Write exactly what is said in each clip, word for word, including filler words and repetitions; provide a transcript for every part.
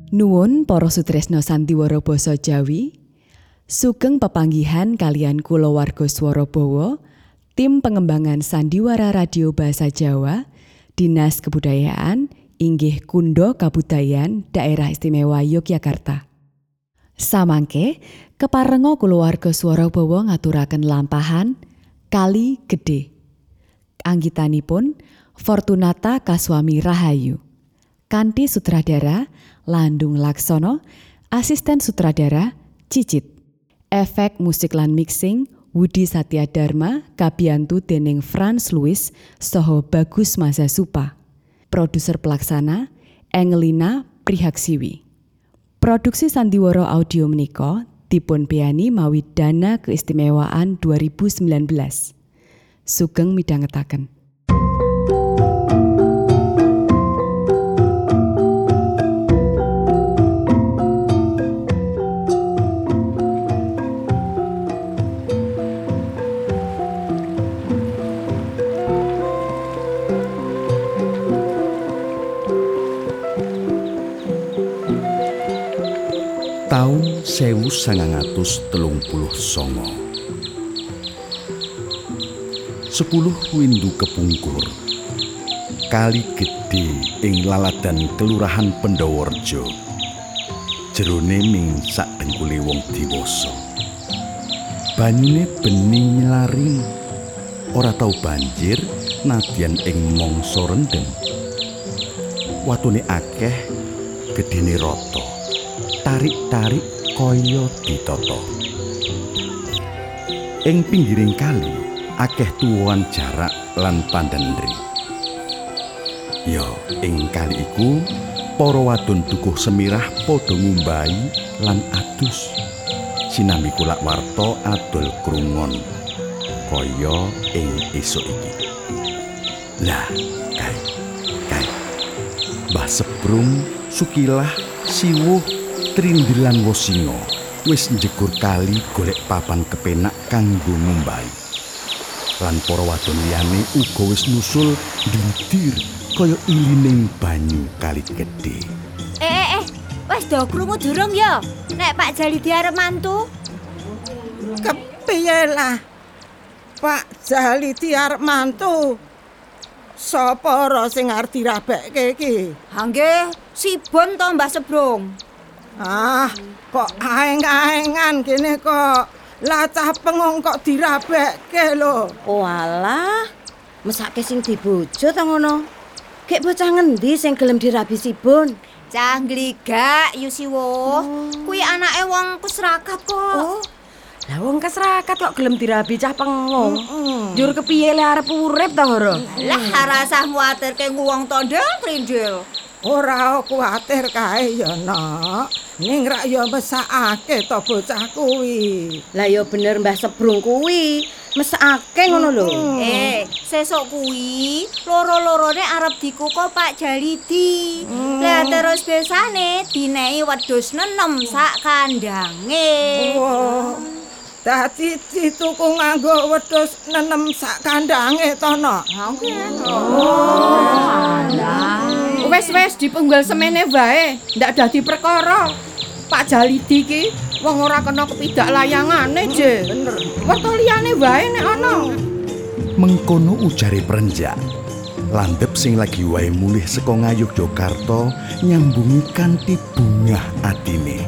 Nuwun para sutresna sandiwara basa Jawi, sugeng pepanggihan kalian kulawarga Swarabawa, tim pengembangan sandiwara radio basa Jawa, Dinas Kebudayaan inggih Kundo Kabudayan Daerah Istimewa Yogyakarta. Samangke keparenga kulawarga Swarabawa ngaturaken lampahan Kali Gedhe. Anggitanipun Fortunata Kaswami Rahayu. Kanthi sutradara Landung Laksono, asisten sutradara Cicit. Efek musik lan mixing Wudi Satyadharma kabiyantu dening Franz Louis saha Bagus Mazasupa. Produser pelaksana Engelina Prihaksiwi. Produksi sandiwara audio menika dipun beyani mawi dana keistimewaan dua ribu sembilan belas. Sugeng midhangetaken. Taun sewu sangang atus telung puluh sanga. Sepuluh windu kepungkur. Kali Gedhe ing laladan Kelurahan Pendawarja. Jerone ning sak dengkule wong diwasa. Banyune bening milaring. Ora tau banjir nadyan ing mangsa rendheng. Watune akeh, gedhene rata. Tarik-tarik kaya ditata. Ing pinggiring kali akeh tuwuhan jarak lan pandhendri. Ya, ing kali iku para wadon dukuh semirah padha ngumbahi lan adus. Sinambi kulak warta adol krungon kaya ing esuk iki. Lah, kae. Kae. Mbah Sebrung, Sukilah, Siwuh Trindilan Wasinga wis njegur kali golek papan kepenak kanggo ngumbahi. Lan para wadon liyane uga wis nusul ndindir kaya ilining banyu Kali Gedhe. Eh eh eh, wis do krungu durung ya? Nek Pak Jalidi arep mantu. Kepiye lah? Pak Jalidi arep mantu. Sapa ora sing arep dirabekke iki? Ha nggih, Sibon to Mbah Sebrung. Ah, kok aeng-aengan kene kok. Lah cah pengong kok dirabekke lho. Oh alah, mesake sing dibojo ta ngono. Gek bocah ngendi sing gelem dirabi Sibon? Cah Gligak Yusiwo. Kuwi anake wong Kusrakat kok. Oh. Lah wong kesrakat kok gelem dirabi cah pengong. Njur kepiye le arep urip ta ora? Lah rasah kuwatirke wong tondel trindil. Ora kuwatir kae ya, Nak. Ning rak ya mesakake to bocah kuwi. Lah ya bener Mbah Sebrung kuwi. Mesake ngono lho. Eh, sesuk kuwi loro-lorone arep dikuko Pak Jalidi. Lah terus besane dinehi wedhus nenem sak kandange. Wah. Dadi dituku nganggo wedhus nenem sak kandange to, Nak. Wes-wes dipenggal semene wae, ndak dadi perkara. Pak Jalidi ki wong ora kena kepidak layangane, Je. Bener. Werta liyane wae nek ana. Mengkono ujare Prenjak. Landhep sing lagi wae mulih saka Ngayogyakarta nyambungi kanthi bungah atine.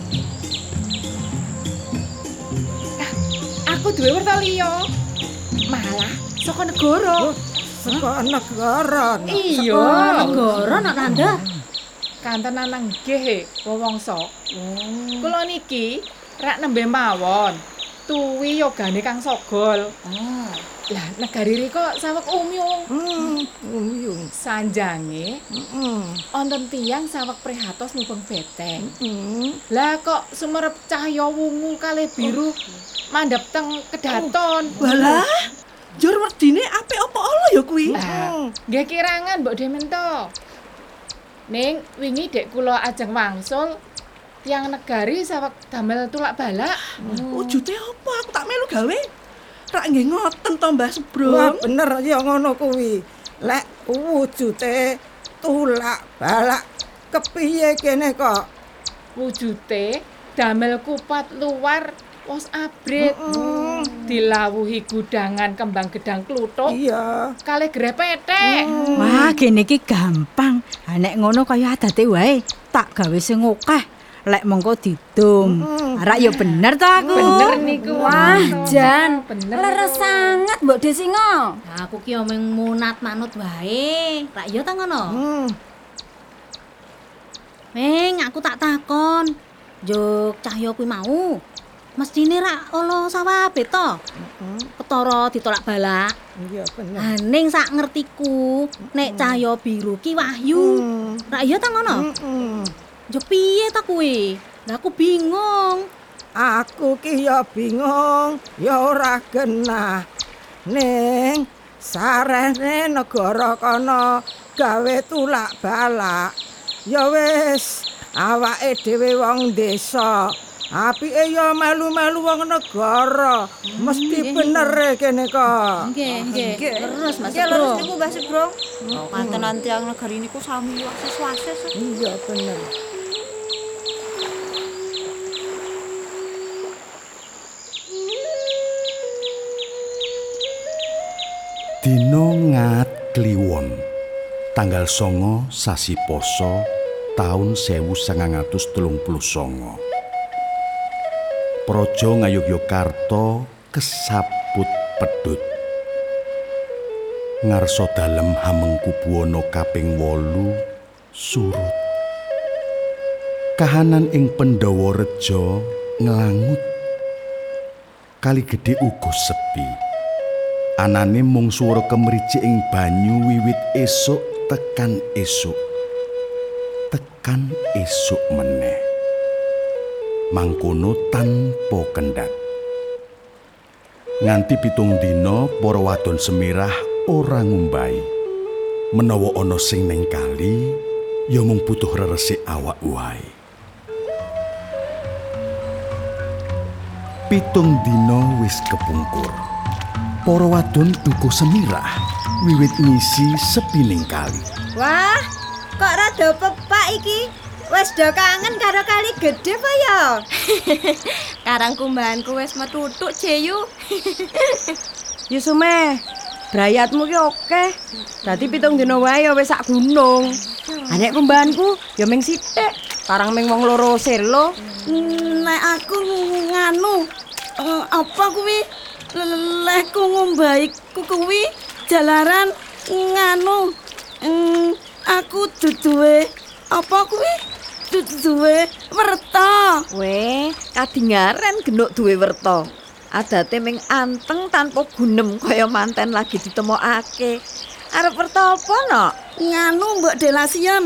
Aku duwe werta liya. Malah saka negara. Saka negara. Iya, Negara nak tanda. kantenan nang nggih wewangsa. Kula niki rak nembe mawon. Tuwi yogane Kang Sogol. Oh. Lah negari rika saweg umyung. Hmm, umyung. Sanjange Heeh. wonten tiyang saweg prihatos mubeng beteng. Heeh. Lah kok sumerep cahya wungu kalih biru mandhap teng kedaton. Walah, jur werdine apik apa ala ya kuwi? Lah, nggih kirangan Mbok Demento. Ning wingi dek kula ajeng wangsul tiyang negari saweg damel tulak balak. Wujude apa? Aku tak melu gawe. Rak nggih ngoten to Mbah Wah, Sebrung. bener ya ngono kuwi. Lek wujude tulak balak kepiye kene kok? Wujute damel kupat luar wos abrit. Dilawuhi gudangan kembang gedang kluthuk. Iya. Kalih grepete. Wah, gene iki gampang. Ha nek ngono kaya adate wae, tak gawe sing akeh. Lek mengko didum. Arak ya bener ta aku. Bener niku. Wah, Jan, bener. leres sangat Mbok Desingo. Nah, aku ki omeng munat manut wae. Rak ya ta ngono? Hmm. Meng, aku tak takon. Juk Cahyo kuwi mau. Mestine rak ala sawabe to. Ketara ditolak balak. Iya bener. Aning sak ngertiku, nek Cahyo biru ki Wahyu. Rak ya ta ngono? Mm-mm. Juk piye ta kuwi? Lah aku bingung. Aku ki ya bingung, ya ora genah. Ning sarene negara kana gawe tulak balak. Ya wis, awake dhewe wong desa. Apike ya melu-melu wong negara. Mesti bener kene kok. Nggih, nggih. Terus Mas Ya Bro. leres niku Mbah Sugro. Oh, kantenan tiyang negari niku sami wasis-wasis. Iya bener. Dina Ngat Kliwon, tanggal songo sasi Pasa taun sewu sangang atus telung puluh sanga. Praja Ngayogyakarta kesabut pedhut. Ngarsa dalem Hamengkubuwana kaping wolu surut. Kahanan ing Pandhawa Reja nglangut. Kali Gedhe uga sepi. Anane mung swara kemricik ing banyu wiwit esuk tekan esuk. Tekan esuk meneh. Mangkono tanpa kendhat. Nganti pitung dina para wadon semirah ora ngumbahi. Menawa ana sing ning kali, ya mung butuh reresik awak wae. Pitung dina wis kepungkur. Para wadon duka semirah wiwit ngisi sepining kali. Wah, kok rada pepak iki. Wes do kangen karo Kali Gedhe apa ya? Karang kumbahanku wis metutuk, Jeyu. Yusume, brayatmu ki oke. Dadi pitung dina wae ya wis sak gunung. Ha nek kumbahanku ya ming sithik, karang ming wong loro selo. Nek aku nganu eh, apa kuwi lehku ngumbahi kuwi jalaran nganu mm, aku duduwe apa kuwi duduwe werta. Weh, kadingaren genuk duwe werta. Adate ming anteng tanpa gunem kaya manten lagi ditemokake. Arep werta apa no? Nganu Mbok Delasian.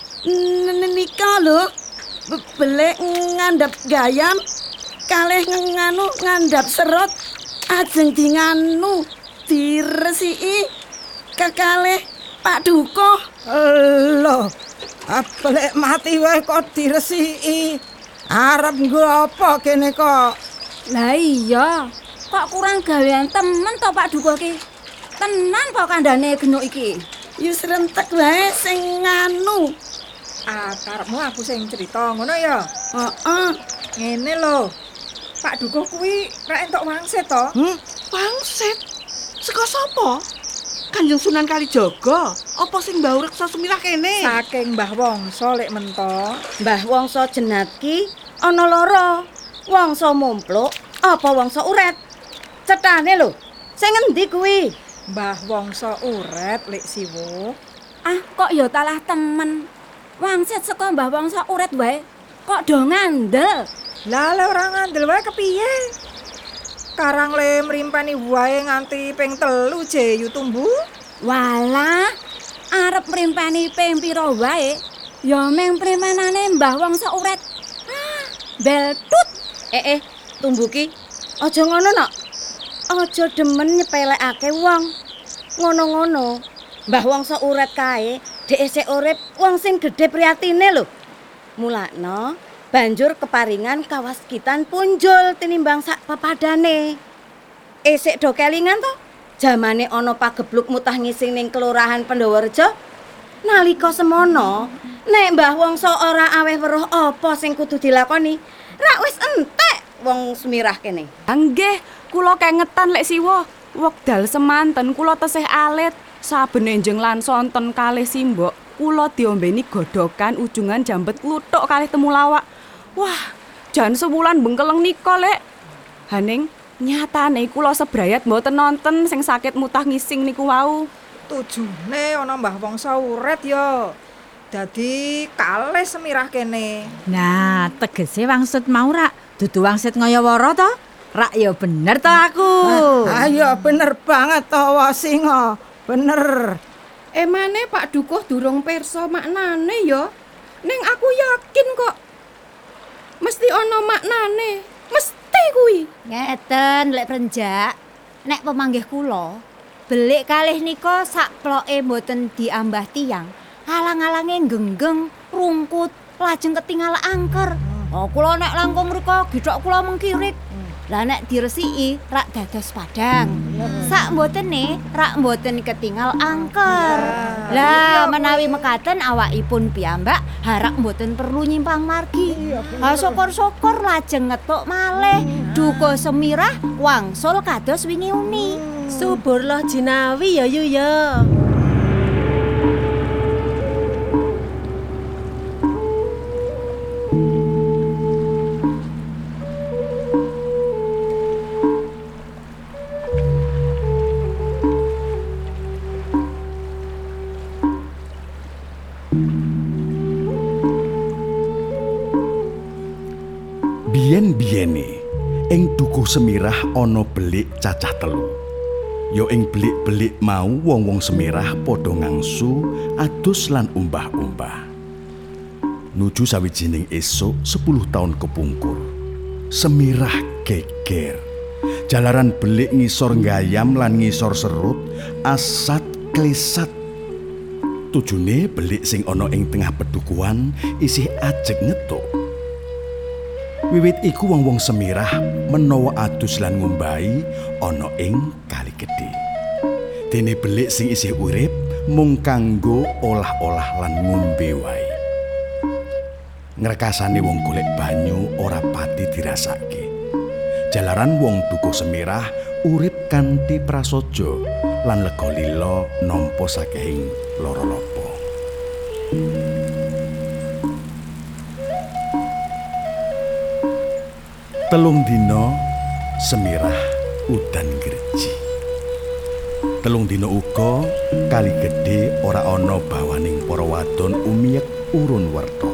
Nika lho. Belek ngandhap gayam kalih nganu ngandhap serut ajeng di nganu diresiki kekalih Pak Dukuh. Lho, belek mati wae kok diresiki. Arep nggo apa kene kok? Lah iya, kok kurang gawean temen to Pak Dukuh ki. Tenan kok kandhane genuk iki. Yus rentek wae sing nganu. Ah, karepmu aku sing cerita ngono ya. Heeh. Ngene lho. Pak Dukuh kuwi rek entuk wangsit to? Hmm? Wangsit? Saka sapa? Kanjeng Sunan Kalijaga? Apa sing Mbah Reksa Sumirah kene? Saking Mbah Wangsa lek mento. Mbah Wangsa jenat ki ana loro. Wangsa mumpluk apa wangsa uret? Cethane lho. Sing endi kuwi? Mbah Wangsa uret lek siwo. Ah, kok ya talah temen. Wangsit saka Mbah Wangsa uret wae. Kok do ngandel? Lah le ora ngandel wae kepiye? Karang le mrimpani wae nganti ping telu Jeyu tumbu. Walah, arep mrimpani ping pira wae, ya mung primpenane Mbah Wangsa uret. Ah, beltut. Eh eh, tumbu ki. Aja ngono nok. Aja demen nyepelekake wong. Ngono-ngono. Mbah Wangsa uret kae, dhek isih urip wong sing gedhe priyatine lho. Mulakno banjur keparingan kawaskitan punjul tinimbang sak pepadane. Isik do kelingan to, jamane ana pagebluk mutah ngising ning kelurahan Pandhawa Reja. Nalika semono, Nek Mbah Wongso ora aweh weruh apa sing kudu dilakoni, rak wis entek wong Semirah kene. Nggih, kula kengetan lek siwa. Wekdal semanten kula tesih alit, saben enjing lan sonten kalih simbok, kula diombeni godhokan ujungan jambet kluthuk kalih temulawak. Wah, jan sewulan bengkeleng nika, Lek. Haning nyatane kula sebrayat mboten nonton sing sakit mutah ngising niku wau. Tujune ana Mbah Wongso uret ya. Dadi kalih Semirah kene. Nah, tegese wangsut mau rak dudu wangsit ngayawara to? Rak ya bener to aku. Ayo bener banget to Wasinga. Bener. Emane Pak Dukuh durung pirsa maknane ya. Ning aku yakin kok mesti ana maknane. Mesti kuwi. Ngeten lek Prenjak. Nek pemanggih kula, belik kalih nika sak ploke mboten diambah tiyang. Alang-alange genggeng, rungkut, lajeng ketinggal angker. Oh, kula nek langkung mriko githok kula mengkirit. Lah nek diresiki rak dados padang. Sak mbotene rak mboten ketinggal angker. Lah menawi mekaten awakipun piyambak harak mboten perlu nyimpang margi. Ha syukur-syukur lajeng ngetuk malih Dukuh Semirah wangsul kados wingi uni. Subur loh jinawi ya yu ya. Biyen-biyene ing Dukuh Semirah ana belik cacah telu. Ya ing belik-belik mau wong-wong Semirah padha ngangsu, adus lan umbah-umbah. Nuju sawijining esuk sepuluh taun kepungkur. Semirah geger. Jalaran belik ngisor gayam lan ngisor serut, asat klesat. Tujune belik sing ana ing tengah pedukuhan isih ajeg ngetuk. Wiwit iku wong-wong Semirah menawa adus lan ngumbahi ana ing kali gedhe. Dene belik sing isih urip mung kanggo olah-olah lan ngombe wae. Ngrekasane wong golek banyu ora pati dirasake. Jalaran wong Dukuh Semirah urip kanthi prasaja lan lega lila nampa sakehing lara lapa. Telung dina Semirah udan greji. Telung dina uga kali gedhe ora ana bawaning para wadon umiyek urun werta.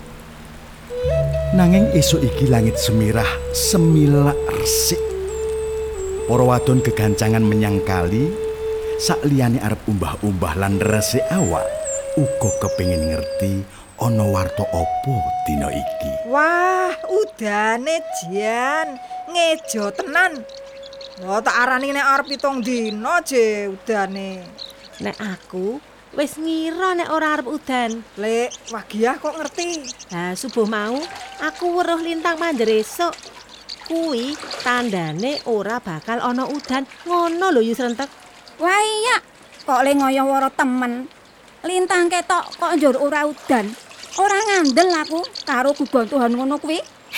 Nanging esuk iki langit Semirah semilak resik. Para wadon gegancangan menyang kali, sakliyane arep umbah-umbah lan resik awak, uga kepengin ngerti ana warta apa dina iki. Wah, udane jan ngejo tenan. Wah, tak arani nek arep pitung dina je udane. Nek aku wis ngira nek ora arep udan. Lek Wagiah kok ngerti? Lah subuh mau aku weruh lintang mandher esuk. Kuwi tandane ora bakal ana udan. Ngono lho Yu Srentek. Wah iya, kok le ngayawara temen. Lintang ketok kok njur ora udan. Ora ngandel aku karo gugontuhan ngono kuwi.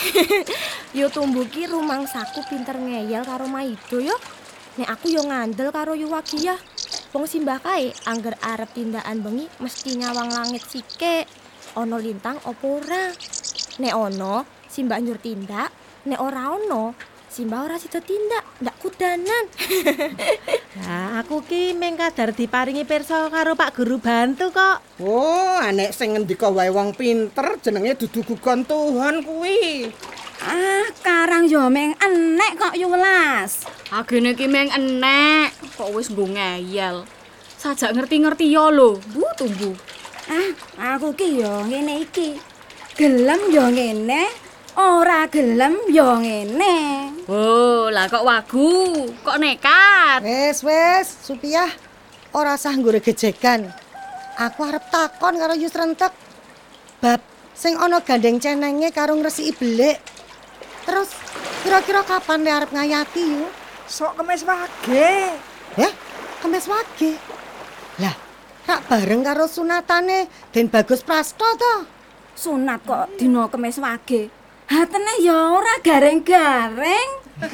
Yo tumbuki rumangsaku pinter ngeyel karo Maido yo. Nek aku yo ngandel karo Yu Wagiah. Wong simbah kae angger arep tindakan bengi mesti nyawang langit sike. Ono lintang opo ora? Nek ono, simbah njur tindak. Nek ora ono, simbah ora sida tindak, ndak kudanan. Lah aku ki meng kadar diparingi pirsa karo Pak Guru Bantu kok. Oh, anek sing ngendika wae wong pinter jenenge dudu gugontuhan kuwi. Ah, karang yo meng enek kok Yu Welas. Agene ki meng enek, kok wis nggo ngeyel. Sajak ngerti-ngerti ya lho, Bu Tumbuh. Ah, aku ki yo ngene iki. Gelem yo ngene, ora gelem yo ngene. Oh, lah kok wagu, kok nekat. Wes, wes, Supiah. Ora usah nggo gejegan. Aku arep takon karo Yu Srentek. Bab sing ana gandeng cenenge karo ngresiki belik. Terus kira-kira kapan le arep ngayati Yu? Sok Kemis Wage. Eh, Kemis Wage. Lah, rak bareng karo sunatane Den Bagus Prasto to. Sunat kok dina Kemis Wage. Hatene ya ora gareng-gareng.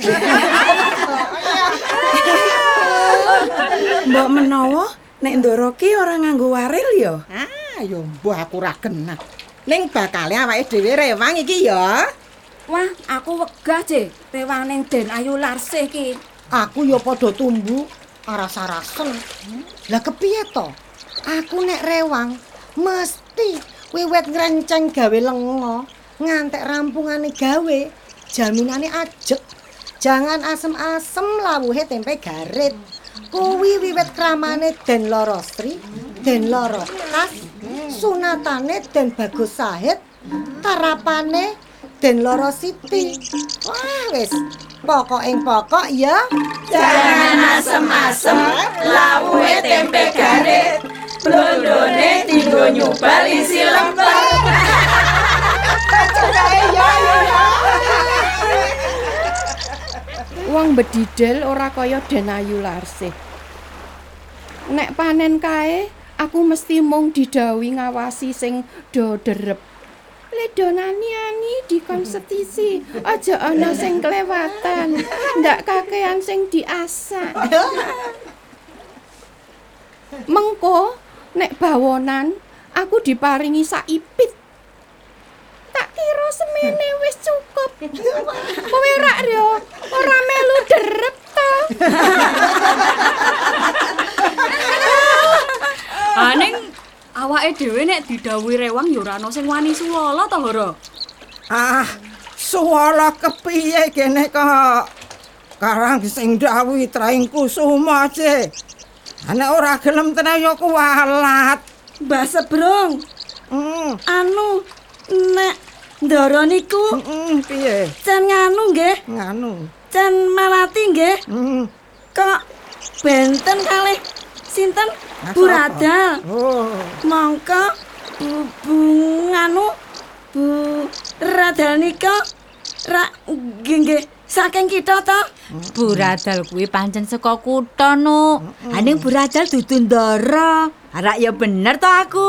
Mbok menawa nek Ndara ki ora nganggo waril ya. Ah, yo mbah aku ora genah. Ning bakale awake dhewe rewang iki ya. Wah, aku wegah, Je. Rewang ning Den Ayu Larsih ki. Aku ya padha tumbu aras-arasen. Lah kepiye to? Aku nek rewang mesti wiwit ngrenceng gawe lenga ngantek rampungane gawe jaminane ajeg. Jangan asem-asem lawuhe tempe garit. Kuwi wiwit kramane Den Lorosri, Den Lorotas, sunatane Den Bagus Sahid, tarapane Den Lorositi. Wah wis, pokok ing pokok ya. Jangan asem-asem lawuhe tempe garit. Blondone tinggo nyubal isi lemper. Wong bedidel ora kaya Den Ayu Larsih. Nek panen kae, aku mesti mung didhawuhi ngawasi sing do derep. Le do nani-ani dikon setisi, aja ana sing kelewatan. Ndak kakean sing diasak. Mengko nek bawonan aku diparingi saipit. Tak kira semene wis cukup. Kowe rak yo ora melu derep to. Aning awake dhewe nek didhawuhi rewang ya ora ana sing wani suwala to, Hara. Ah, suwala kepiye kene kok. Karang sing dawuhi Traing Kusuma Ce. Nek ora gelem tenan ya kuwalat. Mbah Sebrong. Hmm. Anu nek Ndara niku heeh piye? Can nganu nggih? Nganu. Can Malati nggih? Heeh. Kok benten kalih sinten? Bu Radal. Oh. Mongko Bu, bu nganu Bu Radal nika ra nggih nggih saking kita to. Bu Radal kuwi pancen saka kutha no. Aning Bu Radal dudu Ndara. Arak ya bener to aku.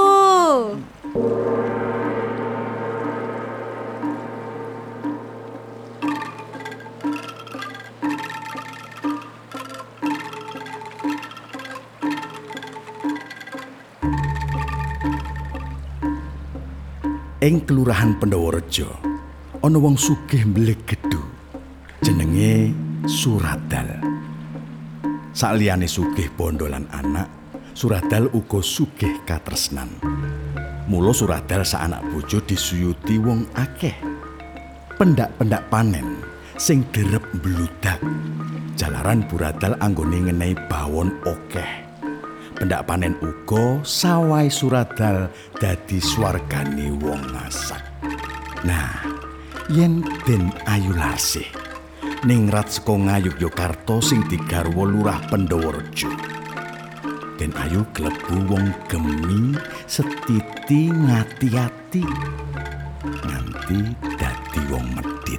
Ing kelurahan Pendawareja ana wong sugih mbelik gedhu jenenge Suradal. Saliyane sugih bondo lan anak, Suradal uga sugih katresnan. Mula Suradal sak anak bojo disuyuti wong akeh. Pendak-pendak panen sing derep mbludak. Jalaran Buradal anggone ngenehi bawon akeh. Pendak panen uga sawai Suradal dadi swargane wong ngasak. Nah, yen Den Ayu Larsih ningrat saka Ngayogyakarta sing digarwa Lurah Pendawareja. Den Ayu klebu wong gemi, setiti ngati-ati nganti dadi wong medhit.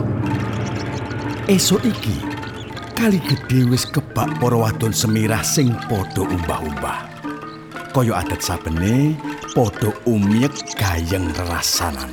Esuk iki Kali Gedhe wis kebak para wadon Semirah sing padha umbah-umbah. Kaya adat sabene padha umyek gayeng rerasanan.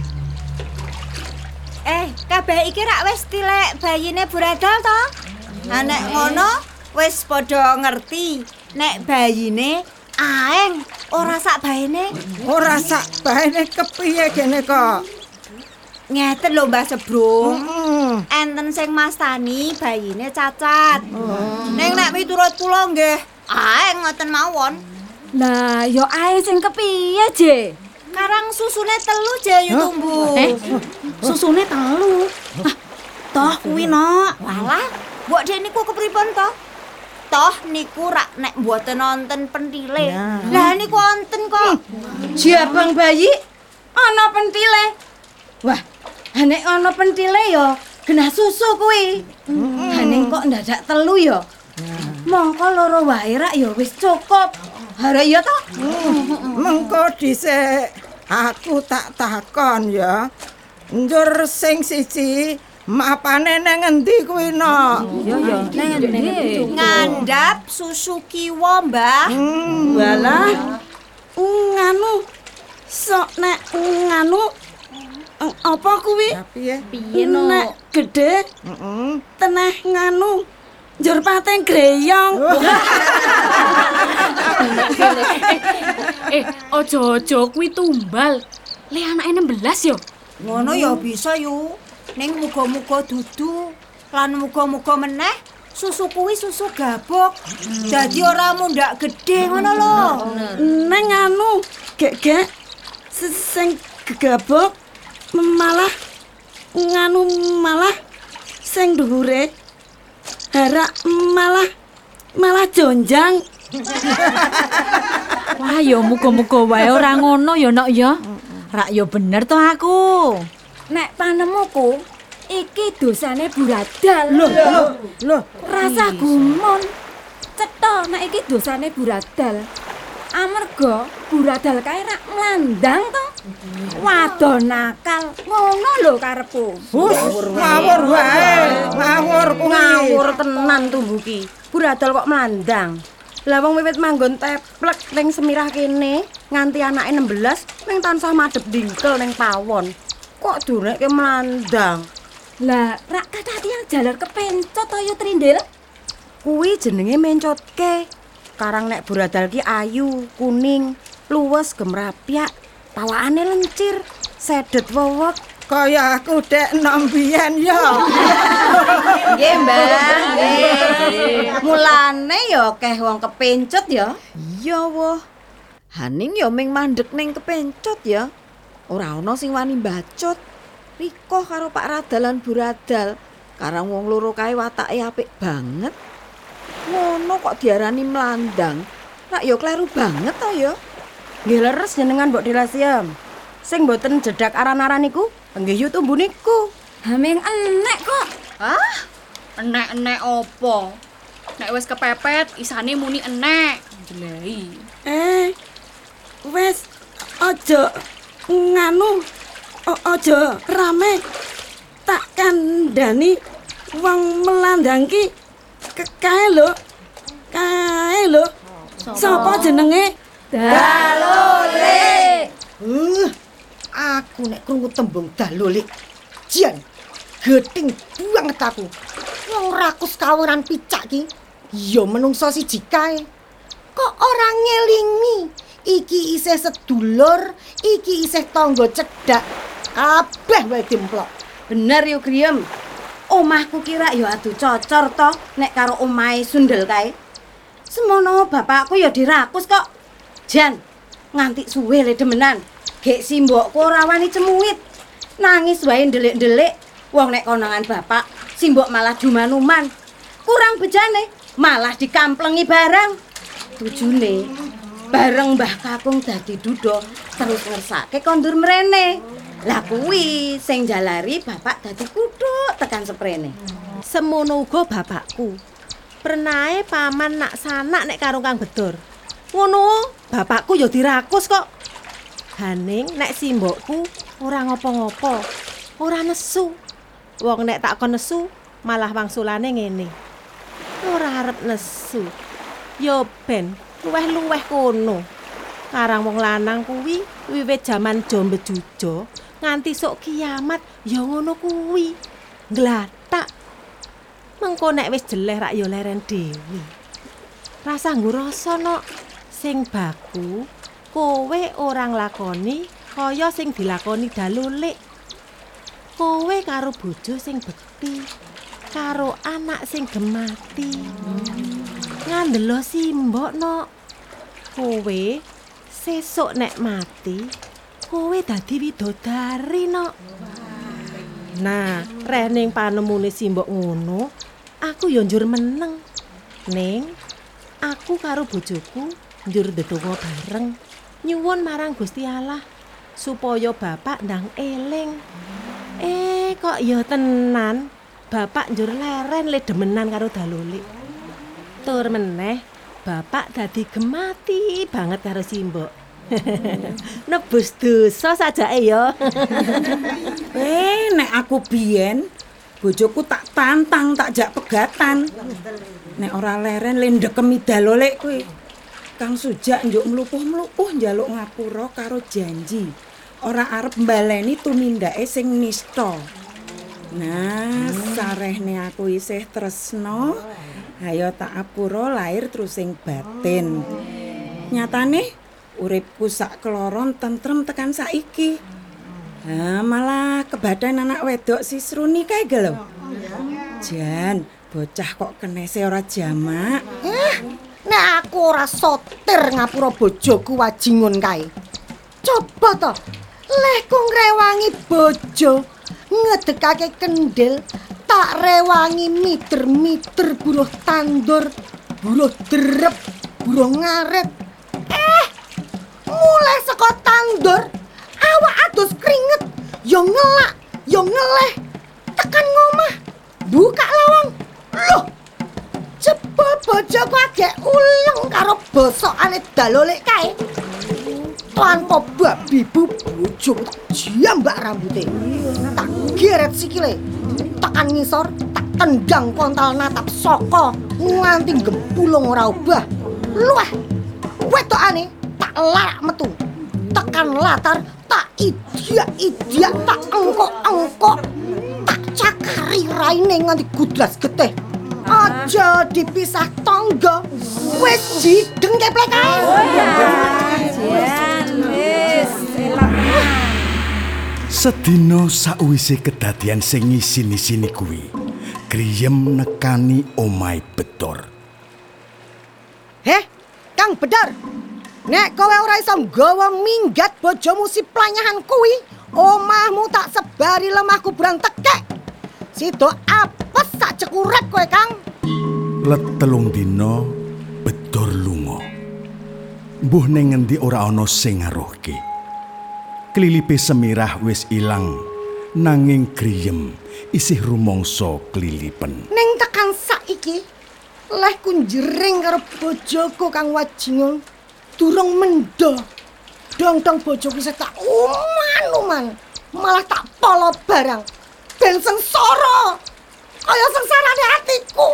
Eh, kabeh iki rak wis tilek bayine Bu Radal to? Ha nek ngono wis padha ngerti nek bayine aeng ora sak baene. Ora sak baene kepiye kene kok? Ngeten lho Mbah Sebrung. Mm. Enten sing mastani bayine cacat. Oh. Ning nek miturut kula nggih aeng ngoten mawon. Lah, ya ae sing kepiye, Je? Karang susune telu Je yu tumbuh. Eh, susune telu. Ah, toh kuwi no. Walah, mbok dek niku kepripun to? Toh niku rak nek mboten nonton pentile. Nah. Lah niku wonten kok. Jabang bayi ana pentile. Wah, nek ana pentile ya genah susu kuwi. Hmm. Ning kok ndadak telu ya? Mongko loro wae rak ya wis cukup. Hara ya to? Hmm. Mengko dhisik aku tak takon ya. Njur sing siji Mapane nang ngendi kuwi no? Yo yo, nang endi? Ngandhap susu kiwa, Mbah. Hmm. Walah. Nganu sok nek nganu eh, apa kuwi? Piye? Piye no? Nek gedhe Heeh. teneh nganu njur pateng greyong. Eh, ojo-ojo kuwi tumbal. Le anake enam belas yo. Ngono ya bisa yu. Ning muga-muga dudu lan muga-muga meneh susu kuwi susu gabok. Dadi ora mundak gedhe ngono lho. Neng anu gek-gek se- sing gegabok malah nganu malah sing dhuwure harak malah malah jonjang. Wah, ya muga-muga wae ora ngono ya, Nok ya. Rak ya bener to aku. Nek panemuku iki dosane buradal. Loh, loh, loh. Rasa gumun. Cetha nek iki dosane buradal. Amarga buradal kae rak mlandang to. Wadon nakal. Ngono lho karepku. Hus, ngawur wae. Ngawur kuwi. Ngawur tenan tumbuki. Buradal kok mlandang. Lah wong wiwit manggon teplek ning Semirah kene nganti anake enam belas ning tansah madhep dingkel ning pawon. Kok durekke mlandang? Lah rak kata tiyang jalar kepencot to yo Trindil. Kuwi jenenge mencotke. Karang nek buradal ki ayu, kuning, luwes gemrapyak, pawakane lencir, sedet wewek. Kaya aku dek enom biyen ya. Nggih, Mbah. Nggih. Mulane ya akeh wong kepencut ya. Iya woh. Haning ya ming mandek ning kepencot ya. Ora ana sing wani bacot. Riko karo Pak Radalan Buradal. Karang wong loro kae watake apik banget. Ngono kok diarani mlandang. Rak ya kleru banget to ya. Nggih leres jenengan Mbok Delasiem. Sing mboten jedak aran-aran niku, nggih yu tumbu niku. Haming enek kok. Hah? Enek-enek opo? Nek wis kepepet isane muni enek. Jelai. Eh. Wes aja nganu. O- aja rame. Tak kandhani wong melandang ki ke- kae lho. Kae lho. Sapa jenenge? Dalole. Uh, aku nek krungu tembung dalole. Jan, geting banget aku. Wong rakus kawiran picak ki, ya menungso siji kae. Kok ora ngelingi? Iki isih sedulur, iki isih tangga cedhak. Kabeh wae dimplok. Bener yo Griem. Omahku kira yo adu cocor to nek karo omahe Sundel kae. Semono bapakku ya dirakus kok. Jan, nganti suwe le demenan. Gek simbokku ora wani cemuit. Nangis wae ndelik-ndelik. Wong nek konangan bapak, simbok malah jumanuman. Kurang bejane, malah dikamplengi barang. Tujune bareng Mbah Kakung dadi duda terus ngersake kondur mrene. Lah kuwi sing jalari bapak dadi kuthuk tekan seprene. Semono uga bapakku. Prenae paman nak sanak nek karo Kang Bedor. Ngono, bapakku ya dirakus kok. Haning nek simbokku ora ngopo-ngopo, ora nesu. Wong nek tak kon nesu malah wangsulane ngene. Ora arep nesu. Yo ben luweh-luweh kono. Karang wong lanang kuwi wiwit jaman Jombe Jujo nganti sok kiamat ya ngono kuwi. Nglatak. Mengko nek wis jeleh rak ya leren dhewe. Rasa ngurasa no sing baku kowe ora nglakoni kaya sing dilakoni Dalulik. Kowe karo bojo sing bekti, karo anak sing gemati. Ngandelo simbok no. Kowe sesuk nek mati, kowe dadi widodari no. Nah, rening panemune simbok ngono, aku yo njur meneng. Ning aku karo bojoku njur ndedonga bareng nyuwun marang Gusti Allah supaya bapak ndang eling. Eh kok ya tenan bapak njur leren le demenan karo Dalulik. Tur meneh bapak dadi gemati banget karo simbok. Nebus dosa sajake ya. Eh nek aku biyen bojoku tak tantang, tak jak pegatan. Nek ora leren le ndekemi dalolek kowe. Kang Sujak njuk mlupuh-mlupuh njaluk ngapura karo janji. Ora arep mbaleni tumindake sing nista. Nah, sarehne aku isih tresno, ayo tak apura lahir terus sing batin. Nyatane uripku sak keloron tentrem tekan saiki. Nah, malah kebadan anak wedok si Sruni kae lho. Jan, bocah kok kenese ora jamak. Eh, nek aku ora sotir ngapura bojoku wajingun kae. Coba to, leh ku ngrewangi bojo, ngedekake kendel, tak rewangi miter-miter buruh tandur, buruh derep, buruh ngaret. Eh, mulai saka tandur, awak adus keringet, yo ngelak, yo ngeleh, tekan ngomah, buka lawang. Loh, jebul bojoku agek uleng karo bosokane dalolek kae. Tanpa babi bu bojo jambak rambute. Tak geret sikile. Tekan ngisor, tak tendang kontol natap saka nganti gempulung ora obah. Luweh. Wedokane tak larak metu. Tekan latar tak idiak-idiak, tak engkok-engkok. Tak cakari raine nganti gudlas getih. Aja dipisah tangga. Wis jideng keplek kae. Sedina sakwise kedadian sing isin-isini kuwi, Griyem nekani omahe Bedor. Heh, Kang Bedor. Nek kowe ora iso nggawa minggat bojomu si planyahan kuwi, omahmu tak sebari lemah kuburan tekek. Sido apes sak cekurep kowe, Kang. Let telung dina Bedor lunga. Mbuh ning ngendi ora ana sing ngaruhke. Klilipe Semirah wis ilang, nanging Griyem isih rumangsa klilipen. Ning tekan saiki, leh kunjering karo bojoku Kang Wajingun, durung mendo. Dong-dong bojoku isih tak uman-uman, malah tak polo barang. Ben sengsara, kaya sengsarane atiku.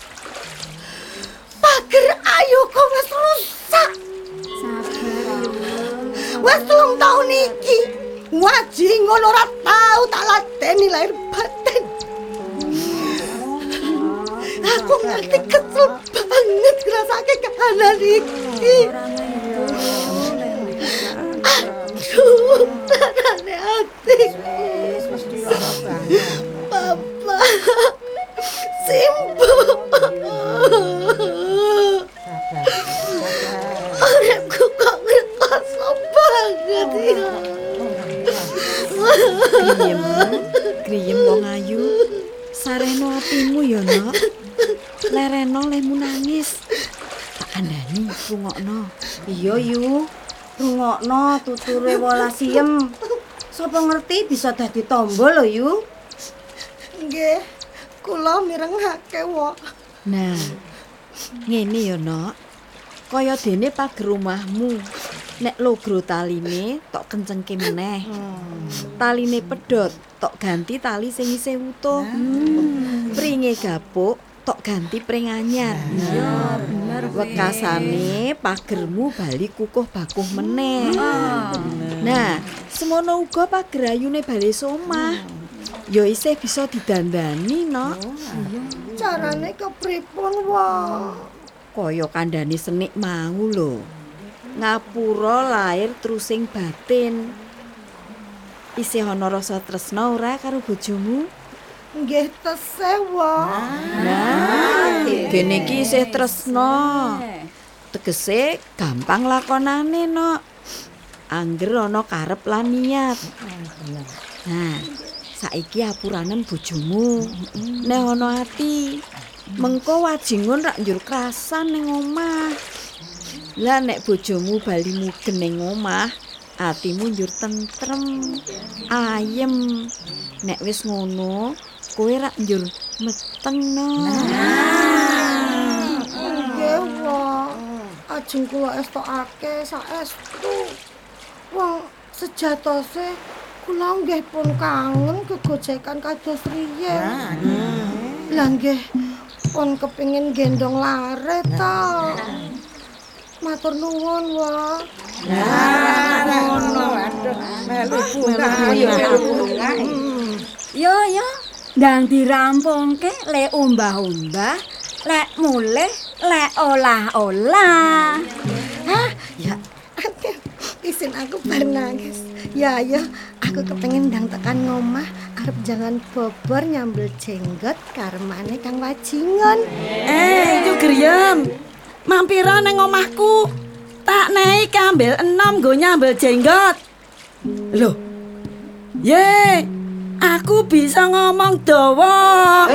Pager ayuku wis rusak. Wes telung taun iki Wajingun ora tau tak ladeni lahir batin. Aku ngerti kesel banget ngrasake kahanan iki. Aduh, tarane ati. Papa, Simbo. Orangku kok ngerasa banget ya. Griyem, Griyem wong ayu, sareno atimu ya, Nok. Lereno lemu nangis. Tak kandhani rungokno. Iya, Yu. Rungokno tuture welas siem. Sapa ngerti bisa dadi tombo lho, Yu. Nggih, kula mirengake wae. Nah, ngene ya, Nok. Kaya dene pager omahmu. Nek logro taline tok kencengke meneh. Taline pedhot tok ganti tali sing isih utuh. Pringe gapuk tok ganti pring anyar. Iya, bener. Wekasane pagermu bali kukuh bakuh meneh. Nah, semono uga pager ayune bali somah. Ya isih bisa didandani, Nok. Carane kepripun wae? Kaya kandhane senik mau lho. Ngapura lahir terus sing batin. Isih ana rasa tresna ora karo bojomu? Nggih tesih wae. Nah, kene iki isih tresna. Tegese gampang lakonane, Nok. Angger ana karep lan niat. Nah, saiki apuranen bojomu. Nek ana ati, mengko Wajingun rak njur krasan ning omah. Lah nek bojomu bali mugen ning omah, atimu njur tentrem, ayem. Nek wis ngono, kowe rak njur meteng, no. Nggih, wae. Ajeng kula estokake saestu. Wong sejatose Kula nggih pun kangen gegojekan kados riyen. Lah nggih pun kepengin gendong lare ta. Matur nuwun wae. Nah, ngono. Aduh, melu bunga yo bunga. Yo yo, ndang dirampungke lek umbah-umbah, lek mulih, lek olah-olah. Hah? Ya, aduh, isin aku bar nangis. Ya ya, aku kepengin ndang tekan ngomah arep jangan bobor nyambel jenggot karmane Kang Wajingon. Eh, itu Griyem. Mampira nang omahku. Tak naik ambil enom go nyambel jenggot. Loh. Ye, aku bisa ngomong dawa.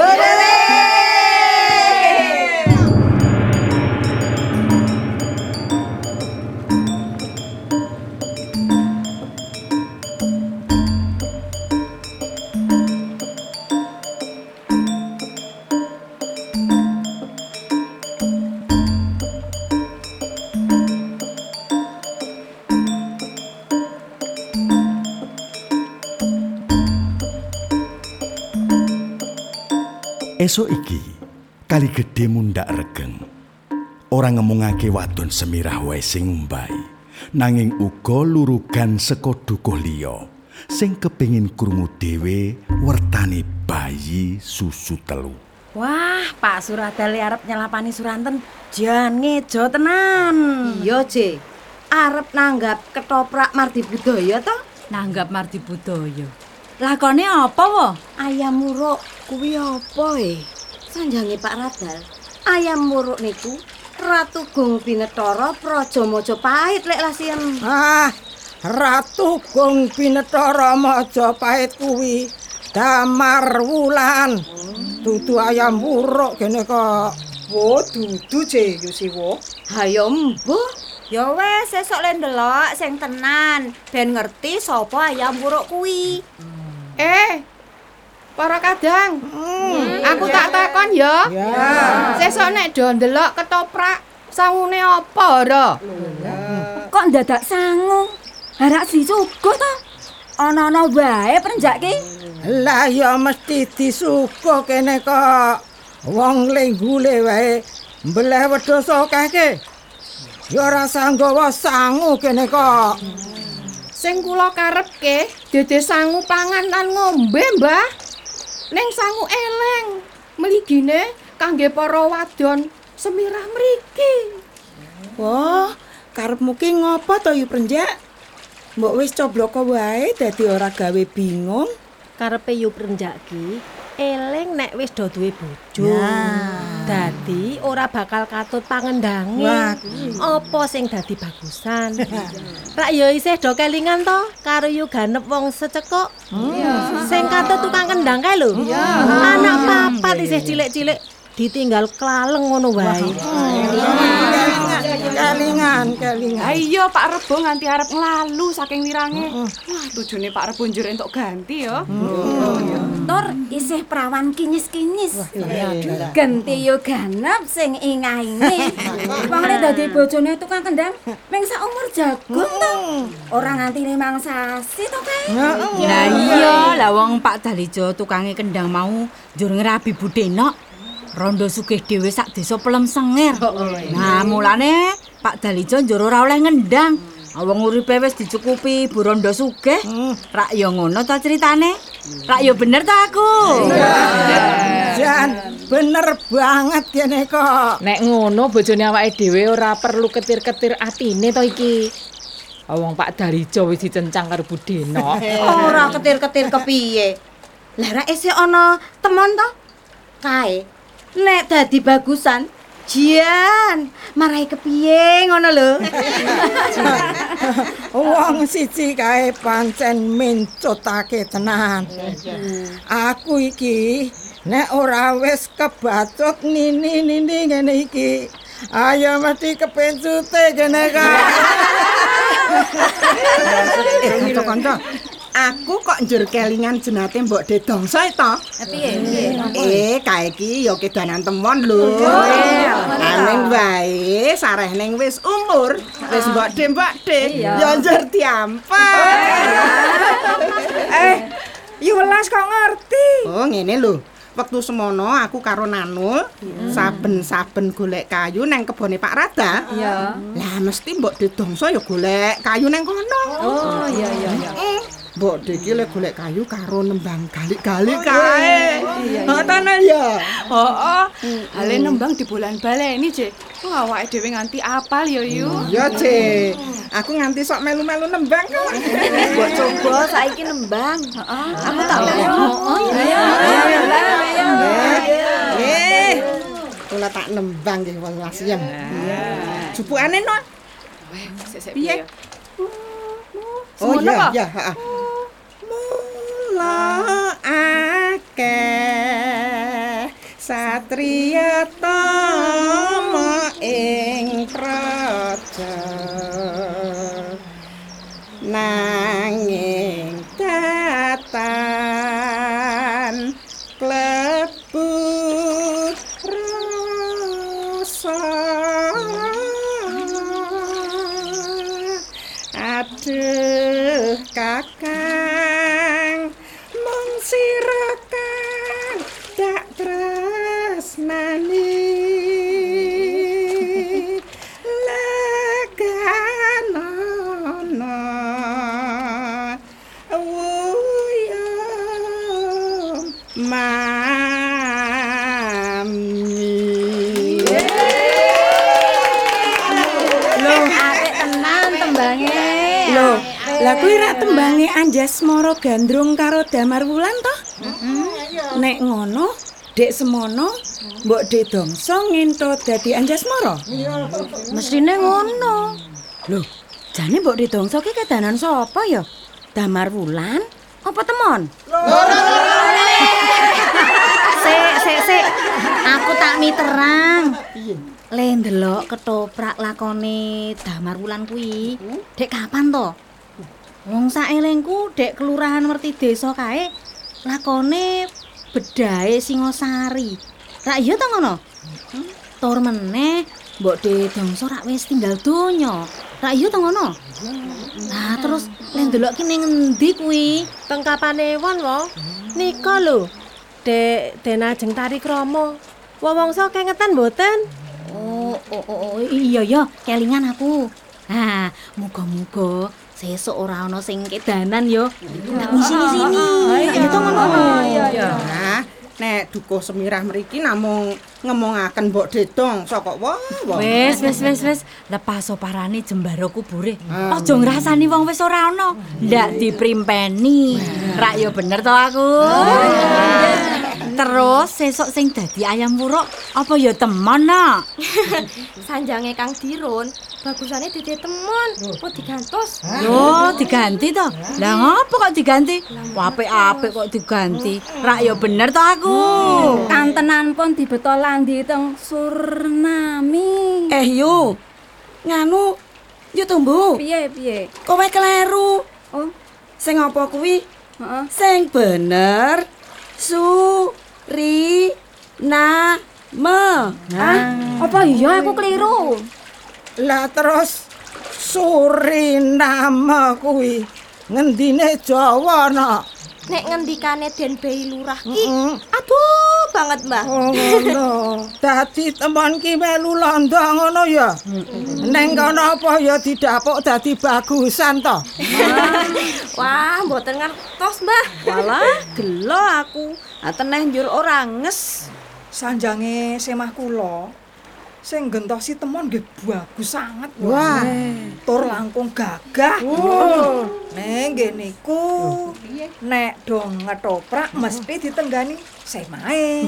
Esuk iki kali gedhe mundak regeng. Ora ngemungake wadon semirah wae sing ngumbahi, nanging uga lurugan saka dukuh liya sing kepengin krungu dhewe wertane bayi susu telu. Wah, Pak Suradale arep nyelapani Suranten jan ngejo tenan. Iya, Ce. Arep nanggap ketoprak Mardi Budaya to? Nanggap Mardi Budaya. Lakone apa wo? Ayam muruk kuwi apa e? Sanjange Pak Radal. Ayam muruk niku Ratu Gung Binetara Praja Majapahit lek lasien. Ah, Ratu Gung Binetara Majapahit kuwi Damar Wulan. Dudu ayam muruk kene kok. Wo dudu Ce yo siwo. Hayo mbuh. Ya wes sesuk le ndelok sing tenan ben ngerti sapa ayam muruk kuwi. Eh, para kadang, hmm, aku ya. Tak takon ya. Ya. Sesuk nek do ndelok ketoprak, sangune apa ora? Kok ndadak sangu? Harak disuguh to? Ana-ana wae prenjak ki. Lah ya mesti disuguh kene kok. Wong lenggule wae mbleh wedhus akeh. Ya ora sanggawa sangu kene kok. Sing kula karepke dede sangu pangan lan ngombe, Mbah. Ning sangu eleng, mligine kangge para wadon semirah mriki. Wah, karepmu ki ngopo to yu Prenjak? Mbok wis cobloko wae dadi ora gawe bingung. Karepe yu Prenjak ki eleng nek wis do duwe bojo. Nah. Dadi ora bakal katut pangendange. Wah, apa sing dadi bagusan? Rak ya isih do kelingan to karo yu ganep wong secekuk. Hmm. Sing katut tukang kendang kae lho. Anak papat isih cilik-cilik ditinggal klaleng ngono wae. Kelingan, kelingan. Ayo Pak Rebo nganti arep nglalu saking wirange. Wah, tujune Pak Rebo njur entuk ganti ya. Tur isih prawan kinyis-kinyis. Ganti yo ganep sing ingah-ingih. Wong lek dadi bojone tukang kendang ming sak umur jagung to. Ora nganti limang sasi to kae. Lah iya, lah wong Pak Dalijo tukange kendang mau njur ngerabi Budenok. Rondo sugih dhewe sak desa Pelem Sengir. Nah, mulane Pak Dalijo njur ora oleh ngendang. Wong uripe wis dicukupi Bu Rondo sugih. Rak ya ngono ta critane? Rak ya bener ta aku? Jan, bener banget kene kok. Nek ngono bojone awake dhewe ora perlu ketir-ketir atine to iki. Wong Pak Dalijo wis dicencang karo Budenok. Ora ketir-ketir kepiye? Lah rak isih ana temon to? Kae nek dadi bagusan jian marai kepiye ngono lho. Wong siji kae pancen mencotake tenan. Aku iki nek ora wis kebacut nini-nini ngene iki, ayo mesti kepencute kene ka. Eh, kanca-kanca. Aku kok njur kelingan jenate Mbok De Dongso to. Piye piye? Eh, kae iki ya kedanan temon lho. Aning wae sareh ning wis umur, wis Mbok De Mbok De, ya njur diampar. Eh, Yulas kok ngerti? Oh, ngene lho. Wektu semono aku karo Nanul saben-saben golek kayu nang kebone Pak Rada. Iya. Lah mesti Mbok De Dongso ya golek kayu nang kono. Oh, iya iya iya. Mbok De iki le golek kayu karo nembang galik-galik kae. Ngoten ya. Heeh. Hale nembang di bulan baleni, Cek. Wah, awake dhewe nganti apal ya, Yu. Iya, Cek. Aku nganti sok melu-melu nembang kok. Mbok coba saiki nembang. Heeh. Aku tak Oh, iya. Eh, kula tak nembang nggih welas yen. Jupukane no. Sik-sik Piye? piye? Oh iya, iya, heeh. Mula akeh satriya tama ing praja nanging datan klebu rasa aduh kakang mung sira kang dak tresnani leganono wuyum mami. Loh, apik tenan tembange. Loh, lah kuwi rak tembange Anjasmara Gandrung karo Damar Wulan toh? Nek ngono, Dek semono Mbok De Dongso ngento dadi Anjasmara. Mestine ngono. Loh, jane Mbok De Dongso ki kedanan sapa ya? Damar Wulan apa temon? Sik, sik, sik. Aku tak miterang. Le ndelok ketoprak lakone Damar Wulan kuwi. Dek kapan to? Wong saelengku dek kelurahan Werti Desa kae lakone bedahe Singosari. Rak iya to ngono? Tur meneh Mbok De Dongso rak wis tinggal donya. Rak iya to ngono? Nah, terus le ndelok ki ning endi kuwi? Teng Kapanewon wae. Nika lho. Dek Denajeng Tari Kromo. Wong-wongso kengetan mboten? Oh, oh, oh, oh, iya ya, kelingan aku. Nah, muga-muga sesuk ora ana sing kedanan yo. Tak sini-sini. Ayo to ngono. Nah, nek dukuh semirah mriki namung ngemongaken Mbok De Dongso kok wah. Wis, wis, wis, wis. Lepas parane jembaro kubure. Aja ngrasani wong wis ora ana. Ndak diprimpeni. Rak yo bener to aku. Terus sesuk sing dadi ayam wuruk apa ya temon nak? Sanjange Kang Dirun, bagusane dadi temon, kok digantos. Yo, diganti to. Lah ngopo kok diganti? Apik-apik kok diganti. Rak ya bener to aku. Kantenan pun dibeto landi teng Surnami. Eh yo, nganu, yo tumbu. Piye piye? Kowe kleru. Oh, sing apa kuwi? Heeh. Sing bener. Su ri na me. Ah, apa iya aku keliru? Lah terus Suriname kuwi ngendine Jawa nak. Nek ngendikane Den Bei Lurah ki, aduh banget, Mbah. Oh ngono. Dadi temon ki melu londo ngono ya. Neng kono apa ya didapuk dadi bagusan to. Wah, mboten ngertos, Mbah. Walah, gelo aku. Ateneh njur ora nges. Sanjange semah kula sing gentosi temon nggih bagus sanget. Wah, tur langkung gagah. Oh. Neng nggih niku nek dong ngetoprak mesti ditenggani semahe.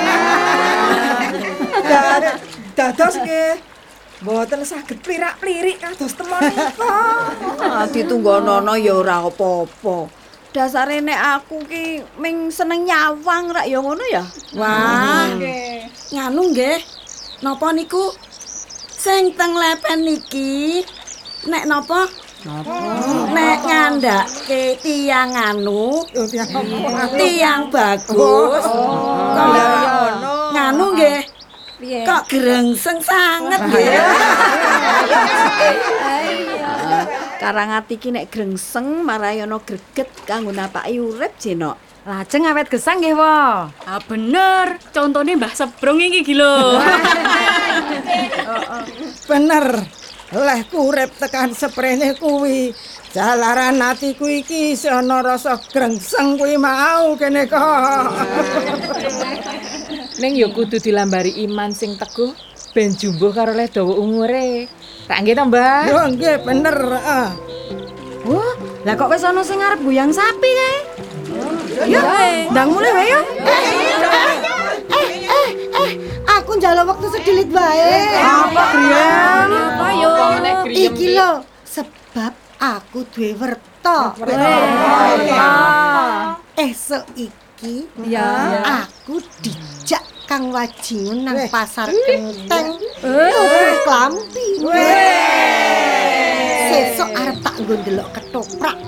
Dados nggih mboten saged plirak-plirik kados temon nika. Ah, ditunggonono ya ora apa-apa. Dasare nek aku ki ming seneng nyawang rak ya ngono ya. Wah. Nganu nggih. Napa niku sing teng lepen niki nek napa Nek ngandhake tiyang anu, tiyang bagus. Kok nganu nggih. Kok grengseng sanget nggih. Karangati ki nek grengseng marai ana greget kanggo napaki urip jenok. Lajeng awet gesang nggih, Wo. Ah bener, contone Mbah Sebrong iki iki lho. Bener. Lehku urip tekan seprene kuwi. Jalaran atiku iki isih ana rasa grengseng kuwi mau kene kok. Ning ya kudu dilambari iman sing teguh ben jumbuh karo leh dawa umure. Tak nggih to, Mbah? Yo nggih bener, heeh. Wah, lah kok wis ana sing arep buyang sapi kae? Yo, ndang mulai wae yo. Eh, eh, eh, aku njaluk waktu sedilit wae. Apa, Grian? Apa yo? Iki lho, sebab aku duwe werta. Esuk iki ya aku dijak Kang Wajingun nang pasar Kenteng. Tuku klambi. Sesuk arep tak nggo ndelok ketoprak.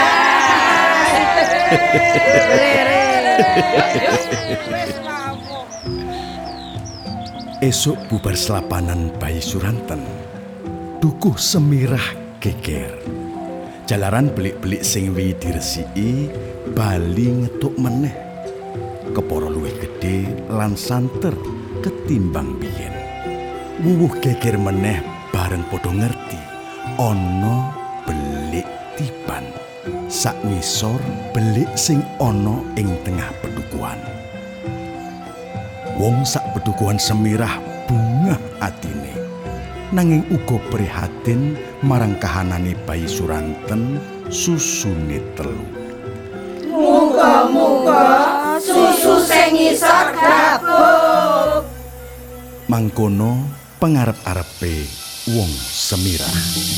Esuk bubar selapanan bayi Suranten. Dukuh semirah geger. Jalaran belik-belik sing wi diresiki bali ngetuk meneh. Kepara luwih gedhe lan santer ketimbang biyen. Wuwuh geger meneh bareng padha ngerti ana belik tiban. Sak ngisor belik sing ana ing tengah pedukuhan. Wong sak pedukuhan semirah bungah atine. Nanging uga prihatin marang kahanane bayi Suranten susune telu. Muga-muga susu sing ngisor gabuk. Mangkono pangarep-arepe wong semirah.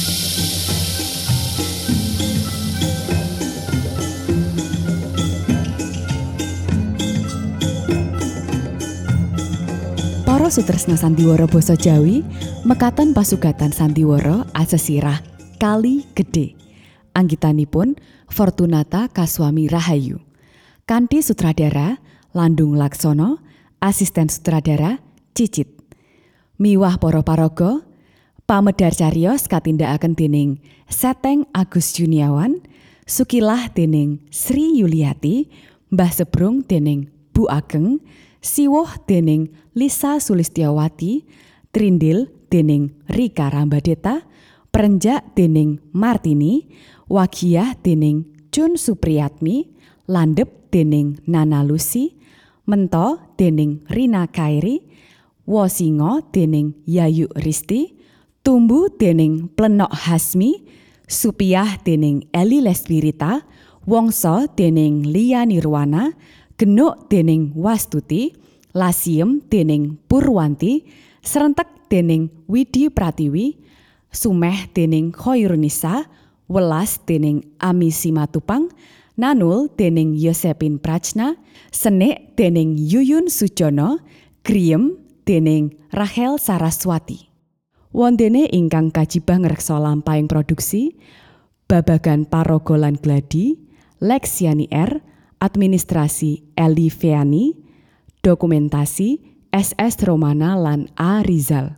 Para sutresna sandiwara basa Jawi mekaten pasugatan sandiwara asesirah Kali Gedhe. Anggitanipun Fortunata Kaswami Rahayu. Kanthi sutradara Landung Laksono, asisten sutradara Cicit. Miwah para paraga, pamedhar cariyos katindakaken dening Seteng Agus Juniawan, Sukilah dening Sri Yuliati, Mbah Sebrung dening Bu Ageng, Siwoh dening Lisa Sulistyawati, Trindil dening Rika Rambadeta, Perenjak dening Martini, Wagiah dening Jun Supriyatmi, Landep dening Nana Lucy, Mento dening Rina Kairi, Wosingo dening Yayu Risti, Tumbu dening Plenok Hasmi, Supiah dening Eli Lesbirita, Wongso dening Lia Nirwana, Genuk dening Wastuti, Lasiem dening Purwanti, Serentek dening Widi Pratiwi, Sumeh dening Khoirunisa, Welas dening Ami Simatupang, Nanul dening Yosepin Prajna, Senik dening Yuyun Sujono, Griem dening Rachel Saraswati. Wondene ingkang kajibah ngreksa lampahing produksi, babagan paraga lan gladi, Lexiani R, administrasi Eli Feani, dokumentasi S S Romana lan A Rizal.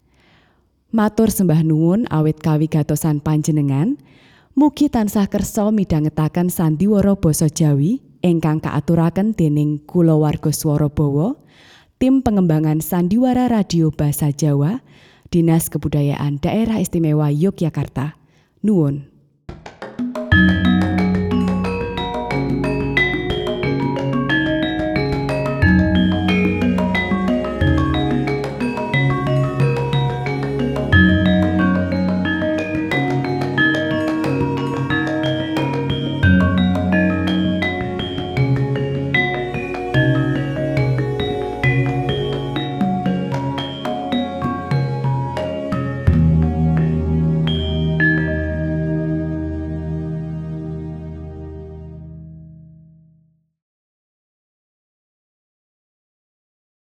Matur sembah nuwun awit kawigatosan panjenengan, mugi tansah kersa midhangetaken sandiwara basa Jawi ingkang kaaturaken dening kulawarga Swarabawa, tim pengembangan sandiwara radio basa Jawa, Dinas Kebudayaan Daerah Istimewa Yogyakarta. Nuwun.